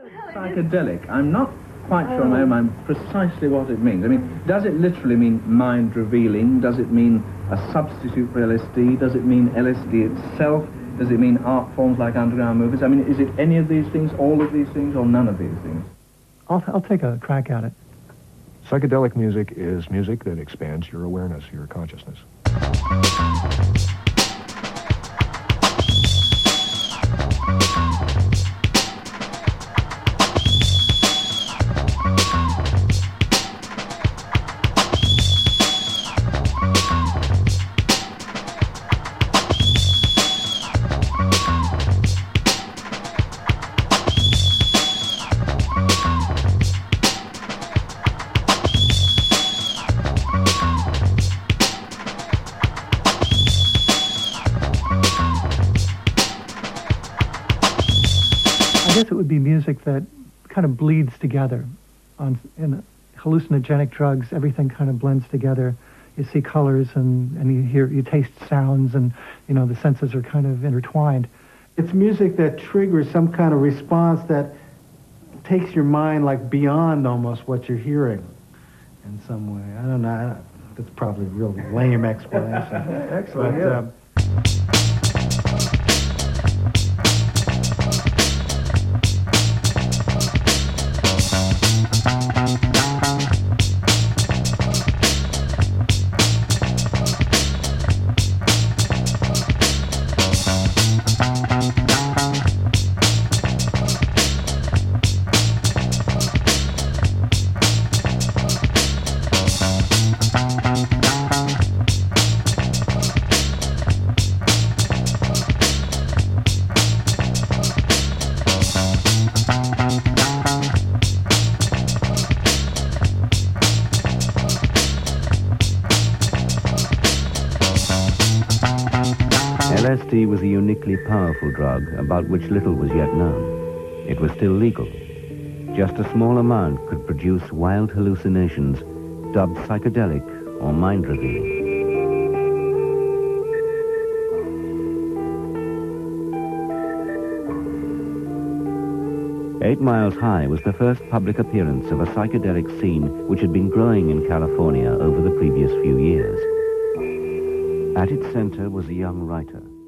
Psychedelic, I'm not quite sure in my own mind precisely what it means. I mean, does it literally mean mind revealing? Does it mean a substitute for LSD? Does it mean LSD itself? Does it mean art forms like underground movies? I mean, is it any of these things, all of these things, or none of these things? I'll take a crack at it. Psychedelic music is music that expands your awareness, your consciousness. I guess it would be music that kind of bleeds together. In hallucinogenic drugs, everything kind of blends together. You see colors and you taste sounds, and the senses are kind of intertwined. It's music that triggers some kind of response that takes your mind like beyond almost what you're hearing in some way. I don't know. That's probably a real lame explanation. Excellent, but, yeah. LSD was a uniquely powerful drug about which little was yet known. It was still legal. Just a small amount could produce wild hallucinations dubbed psychedelic or mind-revealing. Eight Miles High was the first public appearance of a psychedelic scene which had been growing in California over the previous few years. At its center was a young writer.